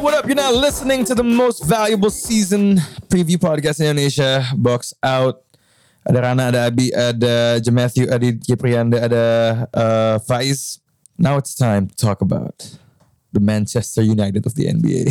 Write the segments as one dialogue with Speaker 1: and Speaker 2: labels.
Speaker 1: what up? You're now listening to the most valuable season preview podcast in Indonesia, Box Out. Ada Rana, ada Abi, ada Matthew, ada Kiprianda, ada Faiz. Now it's time to talk about the Manchester United of the NBA.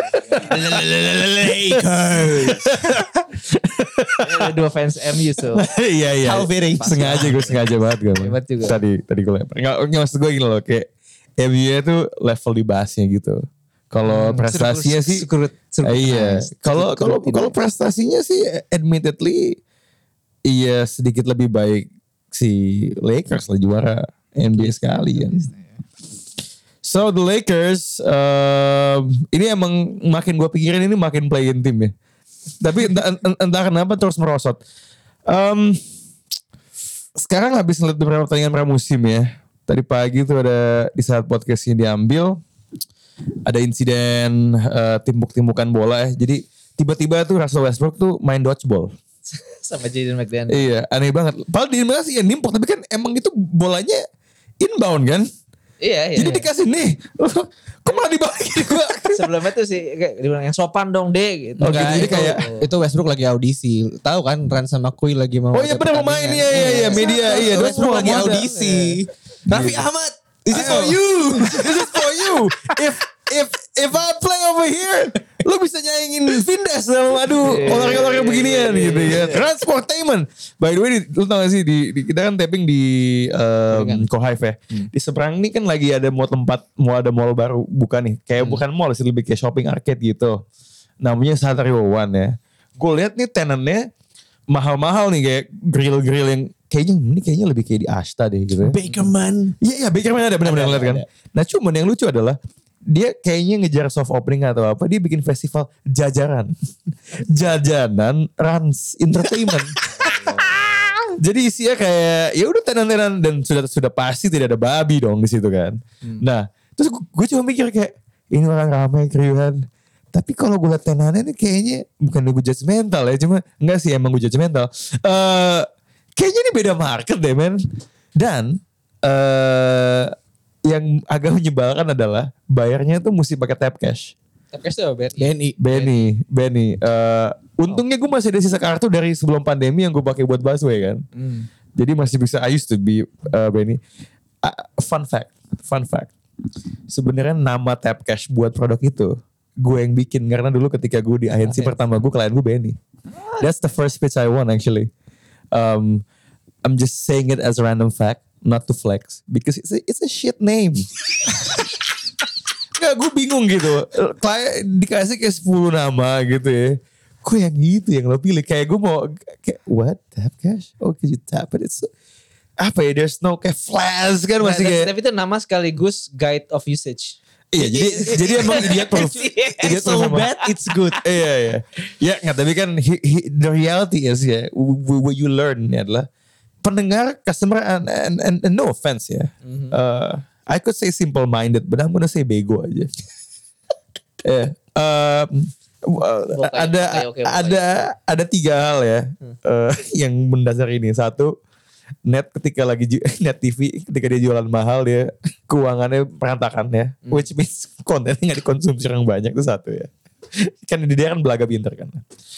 Speaker 2: Lakers.
Speaker 3: Ada dua fans MU so.
Speaker 1: Iya.
Speaker 2: How fitting.
Speaker 1: Sengaja banget gue.
Speaker 3: Hebat juga.
Speaker 1: Tadi gue lempar. Nggak maksud gue gini loh, kayak MU tuh level dibahasnya gitu. Kalau prestasinya sih, iya. Kalau prestasinya sih, admittedly, iya sedikit lebih baik si Lakers lah juara NBA sekali kan. So the Lakers, ini emang makin gue pikirin ini makin play-in team ya. Tapi entah kenapa terus merosot. Sekarang habis ngeliat beberapa pertandingan pramusim ya. Tadi pagi tuh ada di saat podcast ini diambil, ada insiden timbuk-timbukan bola ya. Jadi tiba-tiba tuh Russell Westbrook tuh main dodgeball.
Speaker 3: Sama Jaden McDaniel.
Speaker 1: Iya, aneh banget. Padahal di Indonesia sih yang nimpuk, tapi kan emang itu bolanya inbound kan.
Speaker 3: Iya.
Speaker 1: Jadi dikasih nih, kok malah dibalikin gua.
Speaker 3: Sebelumnya tuh sih kayak dibilang yang sopan dong deh gitu.
Speaker 1: Oh gitu, jadi kayak
Speaker 2: itu Westbrook lagi audisi. Tahu kan Ran sama Kui lagi mau.
Speaker 1: oh iya benar mau main, iya media, iya.
Speaker 2: Westbrook lagi
Speaker 1: mau ada.
Speaker 2: audisi. Raffi Ahmad, this is for you.
Speaker 1: This is for you. If I play over here, lu bisa nyaingin Vindes dong. Aduh, orang-orang beginian gitu ya. Transportainment. By the way, lu tau gak sih kita kan tapping di Kohive ya. Di seberang ini kan lagi ada mau ada mall baru buka nih. Kayak bukan mall sih, lebih kayak shopping arcade gitu. Namanya Satrio One ya. Gue lihat nih tenannya mahal-mahal nih, kayak grill-grill yang kayaknya lebih kayak di Ashta deh gitu.
Speaker 2: Bakerman.
Speaker 1: Iya Bakerman ada benar-benar lihat kan. Nah cuman yang lucu adalah dia kayaknya ngejar soft opening atau apa, dia bikin festival jajanan Rans Entertainment. Jadi isinya kayak ya udah tenan-tenan dan sudah pasti tidak ada babi dong di situ kan. Nah terus gue cuma mikir kayak ini orang ramai keriuhan. Tapi kalau gue liat tenannya ini kayaknya bukan gue judgmental ya, cuma enggak sih emang gue judgmental. Kayaknya ini beda market deh men. Dan yang agak menyebalkan adalah bayarnya tuh mesti pakai tap cash.
Speaker 3: Tap cash tuh
Speaker 1: Benny. Untungnya gue masih ada sisa kartu dari sebelum pandemi yang gue pakai buat busway kan. Jadi masih bisa. I used to be Benny. Fun fact. Sebenarnya nama tap cash buat produk itu gue yang bikin, karena dulu ketika gue di agensi pertama gue, klien gue Benny. That's the first pitch I won actually. I'm just saying it as a random fact, not to flex, because it's a shit name. Nggak, gue bingung gitu. Klien dikasih kayak 10 nama gitu ya. Kok yang gitu yang lo pilih? Kayak gue mau kayak what? Tap cash? Oh, could you tap it? It's apa ya? There's no kayak flash kan masih kayak.
Speaker 3: Tapi itu nama sekaligus guide of usage.
Speaker 1: Iya, jadi emang idiot proof.
Speaker 2: It's so bad, it's good.
Speaker 1: Iya. Ya nggak, tapi kan the reality is ya, what you learn adalah pendengar, customer, and no offense ya. I could say simple minded, but I'm gonna say bego aja. Ada 3 hal ya yang mendasar ini. Satu, net TV ketika dia jualan mahal, dia keuangannya berantakan ya, which means kontennya nggak dikonsumsi orang banyak, itu satu ya. Kan dia kan belaga pinter kan.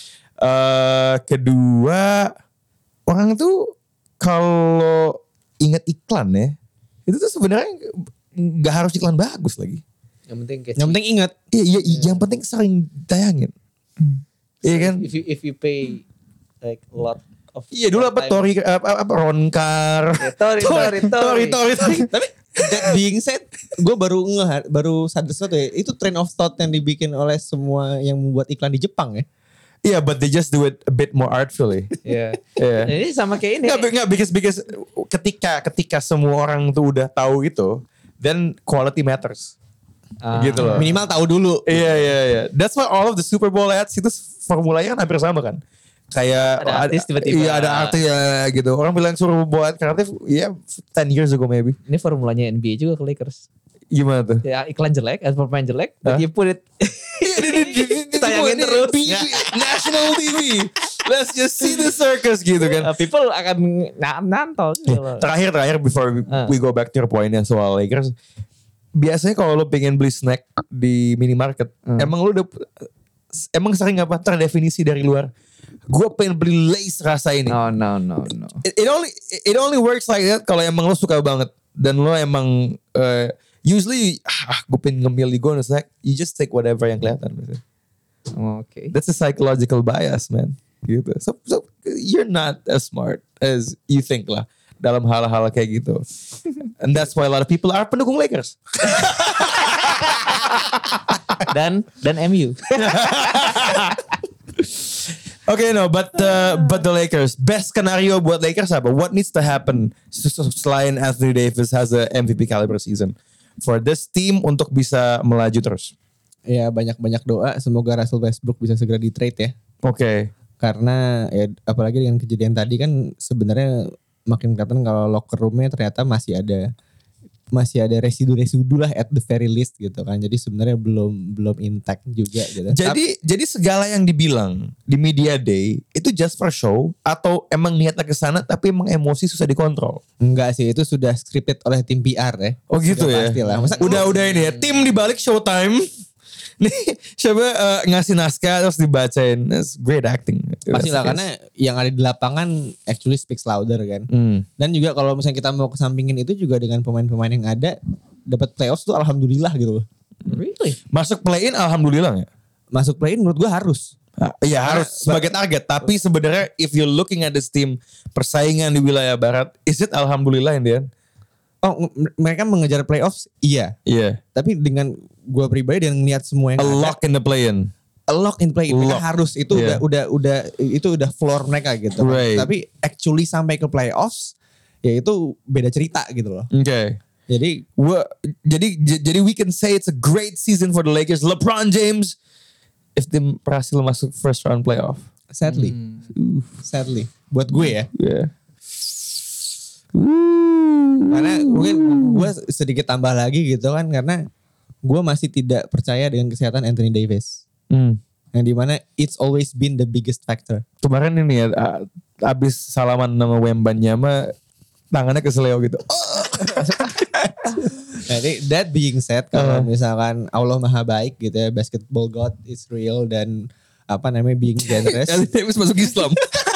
Speaker 1: Kedua, orang tuh kalau ingat iklan ya, itu tuh sebenarnya nggak harus iklan bagus lagi.
Speaker 3: Yang
Speaker 2: penting ingat.
Speaker 1: Iya, yang penting sering tayangin. Iya kan?
Speaker 3: If you pay like a lot of.
Speaker 1: Iya dulu apa Ronkar.
Speaker 3: Tori.
Speaker 2: Tapi that being said, gue baru sadar sesuatu ya. Itu train of thought yang dibikin oleh semua yang membuat iklan di Jepang ya.
Speaker 1: Iya, but they just do it a bit more artfully.
Speaker 3: Iya. Ini sama kayak ini.
Speaker 1: Nggak, because ketika semua orang tuh udah tahu itu, then quality matters. Gitu loh.
Speaker 2: Minimal tahu dulu.
Speaker 1: Iya. That's why all of the Super Bowl ads itu formulanya kan hampir sama kan. Kayak
Speaker 3: ada artis tiba-tiba.
Speaker 1: Iya, ada artis ya gitu. Orang bilang suruh buat kreatif, ya 10 years ago maybe.
Speaker 3: Ini formulanya NBA juga ke Lakers.
Speaker 1: Gimana tuh?
Speaker 3: Ya iklan jelek, pemain jelek, but you put it. Tayangin terus.
Speaker 1: National TV. Let's just see the circus gitu kan.
Speaker 3: People akan nantol.
Speaker 1: Terakhir before we go back to your point yang soal Lakers. biasanya kalau lo pengen beli snack di minimarket, emang sering apa terdefinisi dari luar? Gue pengen beli Lay's rasa ini.
Speaker 3: No.
Speaker 1: It only works like that kalau emang lo suka banget dan lo emang usually gue pengen ngemil di gue snack, you just take whatever yang kelihatan.
Speaker 3: Oke.
Speaker 1: That's a psychological bias, man. Gitu. So you're not as smart as you think lah dalam hal-hal kayak gitu. And that's why a lot of people are pendukung Lakers.
Speaker 3: Dan MU.
Speaker 1: Okay, no, but the Lakers, best scenario buat Lakers apa? What needs to happen selain Anthony Davis has a MVP caliber season for this team untuk bisa melaju terus?
Speaker 2: Ya banyak-banyak doa semoga Russell Westbrook bisa segera di trade ya.
Speaker 1: Oke.
Speaker 2: Karena ya apalagi dengan kejadian tadi kan sebenarnya makin kelihatan kalau locker roomnya ternyata masih ada residu-residu lah at the very least gitu kan. Jadi sebenarnya belum intact juga gitu.
Speaker 1: Jadi segala yang dibilang di media day itu just for show atau emang niatnya ke sana tapi emang emosi susah dikontrol?
Speaker 2: Enggak sih, itu sudah scripted oleh tim PR ya.
Speaker 1: Oh gitu
Speaker 2: sudah
Speaker 1: ya.
Speaker 2: Pastilah. Masa
Speaker 1: Udah ini ya, tim di balik Showtime. Nih coba ngasih naskah terus dibacain. That's great acting.
Speaker 2: pastilah karena yang ada di lapangan actually speaks louder kan. Dan juga kalau misalnya kita mau kesampingin itu juga dengan pemain-pemain yang ada dapat playoffs tuh alhamdulillah gitu loh.
Speaker 3: Really?
Speaker 1: Masuk play-in alhamdulillah ya.
Speaker 2: Masuk play-in menurut gue harus.
Speaker 1: Iya harus sebagai target. Tapi sebenarnya if you're looking at this team persaingan di wilayah barat, is it alhamdulillah Indian?
Speaker 2: Oh mereka mengejar playoffs iya.
Speaker 1: Iya.
Speaker 2: Tapi dengan gue pribadi dan ngeliat semua yang
Speaker 1: A lock in the play-in.
Speaker 2: A lock in play-in mereka harus itu
Speaker 1: Yeah.
Speaker 2: udah floor mereka gitu.
Speaker 1: Right.
Speaker 2: Tapi actually sampai ke playoffs ya itu beda cerita gitu loh.
Speaker 1: Okay.
Speaker 2: Jadi
Speaker 1: Jadi we can say it's a great season for the Lakers. LeBron James if dia berhasil masuk first round playoff.
Speaker 2: sadly buat gue ya.
Speaker 1: Yeah.
Speaker 2: Karena mungkin gue sedikit tambah lagi gitu kan karena gue masih tidak percaya dengan kesehatan Anthony Davis. Yang dimana it's always been the biggest factor.
Speaker 1: Kemarin ini ya abis salaman sama Wembanyama tangannya keseleo gitu.
Speaker 2: Jadi that being said kalau misalkan Allah Maha Baik gitu ya, basketball God is real dan being generous.
Speaker 1: Anthony Davis masuk Islam.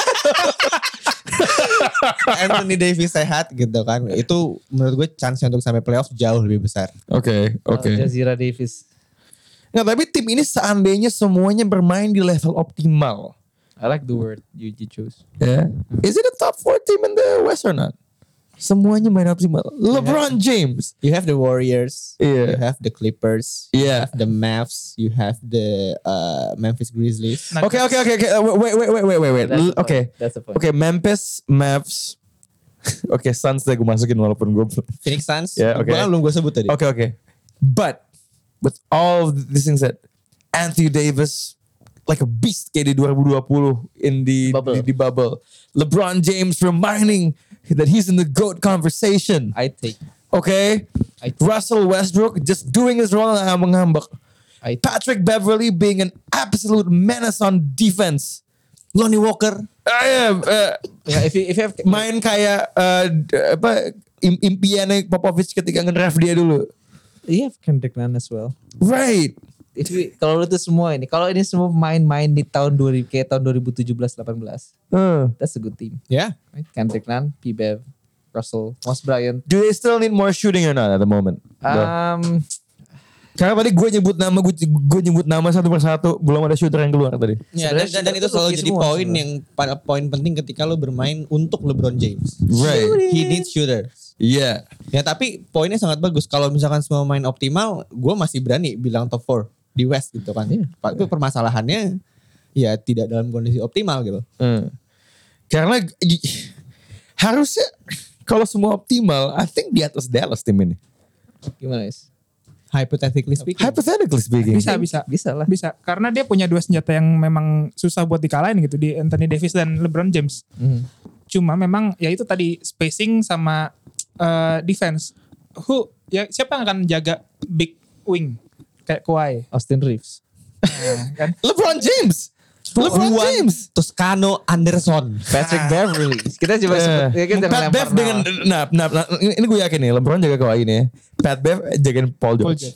Speaker 2: Anthony Davis sehat gitu kan. Itu menurut gue chance untuk sampai playoff jauh lebih besar.
Speaker 1: Oke.
Speaker 3: Jazira Davis.
Speaker 1: Nah tapi tim ini seandainya semuanya bermain di level optimal.
Speaker 3: I like the word you chose.
Speaker 1: Yeah. Is it a top 4 team in the West or not? Semuanya main optimal. LeBron James.
Speaker 2: You have the Warriors.
Speaker 1: Yeah.
Speaker 2: You have the Clippers.
Speaker 1: Yeah.
Speaker 2: You have the Mavs. You have the Memphis Grizzlies.
Speaker 1: Okay. Wait. Okay.
Speaker 3: That's the point.
Speaker 1: Okay, Memphis, Mavs. Okay, Suns gue masukin walaupun gue.
Speaker 2: Phoenix Suns.
Speaker 1: Yeah, okay.
Speaker 2: Belum gue sebut tadi.
Speaker 1: Okay. But with all of these things said, Anthony Davis like a beast kayak di 2020 in the bubble. LeBron James reminding that he's in the GOAT conversation.
Speaker 3: I take.
Speaker 1: Okay. Russell Westbrook just doing his role na ngambak. Patrick Beverly being an absolute menace on defense.
Speaker 2: Lonnie Walker.
Speaker 3: If you have
Speaker 1: Main kayak impiannya Popovich ketika nge-draft dia dulu.
Speaker 3: you have Kendrick Nunn as well.
Speaker 1: Right.
Speaker 3: Kalau itu semua ini, kalau ini semua main-main di tahun 2017-18, that's a good team.
Speaker 2: Yeah.
Speaker 3: Right? Kendrick Nunn, P-Bev, Russell, Moss Bryant.
Speaker 1: Do they still need more shooting or not at the moment? Karena tadi gue nyebut nama satu persatu, belum ada shooter yang keluar tadi.
Speaker 2: Ya, dan itu selalu jadi poin penting ketika lo bermain untuk LeBron James.
Speaker 1: Right.
Speaker 2: He needs shooters.
Speaker 1: Yeah.
Speaker 2: Ya tapi poinnya sangat bagus. Kalau misalkan semua main optimal, gue masih berani bilang top 4 di West gitu kan. Itu permasalahannya ya tidak dalam kondisi optimal gitu.
Speaker 1: Karena harusnya kalau semua optimal, I think di atas Dallas tim ini.
Speaker 3: Gimana guys?
Speaker 2: Hypothetically speaking.
Speaker 3: Bisa lah.
Speaker 4: Bisa. Karena dia punya dua senjata yang memang susah buat dikalahin gitu. Di Anthony Davis dan LeBron James. Cuma memang ya itu tadi spacing sama defense. Siapa yang akan jaga big wing? Kayak Kawhi.
Speaker 3: Austin Reeves.
Speaker 4: Kan?
Speaker 1: LeBron James. LeBron James.
Speaker 2: Toscano Anderson.
Speaker 3: Patrick Beverly. Kita coba sebut. Ya, kita
Speaker 1: Pat Bev dengan ini gue yakin nih LeBron jaga Kawhi nih ya. Pat Bev jagain Paul George.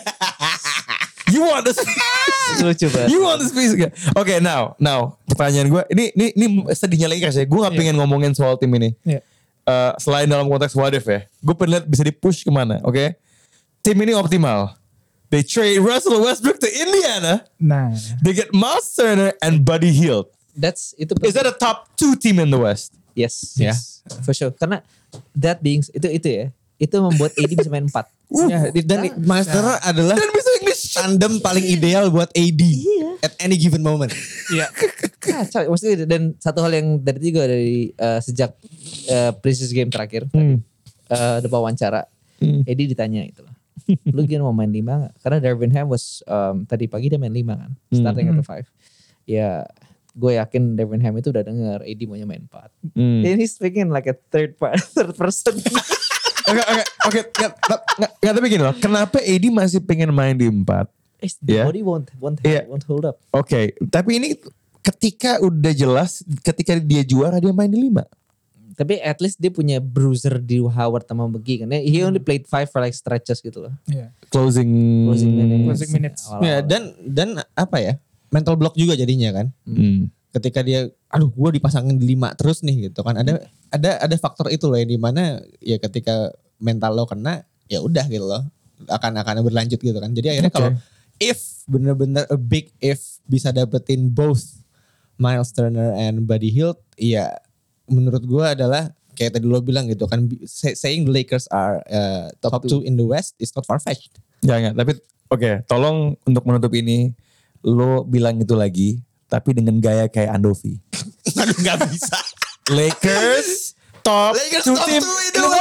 Speaker 1: You want the space?
Speaker 3: Lucu banget.
Speaker 1: You want the space gak? Oke, now pertanyaan gue ini sedihnya Lakers ya. Gue gak pengen ngomongin soal tim ini.
Speaker 4: Iya.
Speaker 1: Selain dalam konteks what if ya. Gue pengen lihat bisa di-push kemana. Oke. Tim ini optimal. They trade Russell Westbrook to Indiana.
Speaker 4: Nah,
Speaker 1: They get Miles Turner and Buddy Hield.
Speaker 3: Itu
Speaker 1: Is that a top 2 team in the West?
Speaker 3: Yes.
Speaker 2: Ya.
Speaker 3: For sure. Karena that being itu ya. Itu membuat AD bisa main 4.
Speaker 2: Ya, dan Miles Turner adalah
Speaker 1: Dan bisa English.
Speaker 2: tandem paling ideal buat AD at any given moment.
Speaker 4: iya.
Speaker 3: Kacau. Maksudnya dan satu hal yang dari sejak preseason game terakhir ada wawancara AD ditanya itu loh. Lu gimana mau main 5 gak? Karena Darvin Ham tadi pagi dia main 5 kan. Starting at the 5. Ya gue yakin Darvin Ham itu udah denger AD maunya main 4. And he's speaking like a third person.
Speaker 1: Oke, nggak tapi gini loh. Kenapa AD masih pengen main di 4?
Speaker 3: The body won't hold up.
Speaker 1: Oke, tapi ini ketika udah jelas, ketika dia juara dia main di 5.
Speaker 3: Tapi at least dia punya bruiser di Howard sama McGee kan. He only played 5 for like stretches gitu loh.
Speaker 4: Iya.
Speaker 1: Closing
Speaker 4: minutes.
Speaker 2: Ya, dan apa ya? Mental block juga jadinya kan. Ketika dia gue dipasangin di 5 terus nih gitu kan. Ada faktor itu loh yang dimana ya ketika mental lo kena ya udah gitu loh. Akan berlanjut gitu kan. Jadi akhirnya kalau if bener-bener a big if bisa dapetin both Miles Turner and Buddy Hield, ya menurut gue adalah kayak tadi lo bilang gitu kan, saying the Lakers are top 2 in the West is not far-fetched.
Speaker 1: Ya enggak, tapi oke, tolong untuk menutup ini lo bilang itu lagi tapi dengan gaya kayak Andovi.
Speaker 2: Aduh gak bisa.
Speaker 1: Lakers top 2 team in the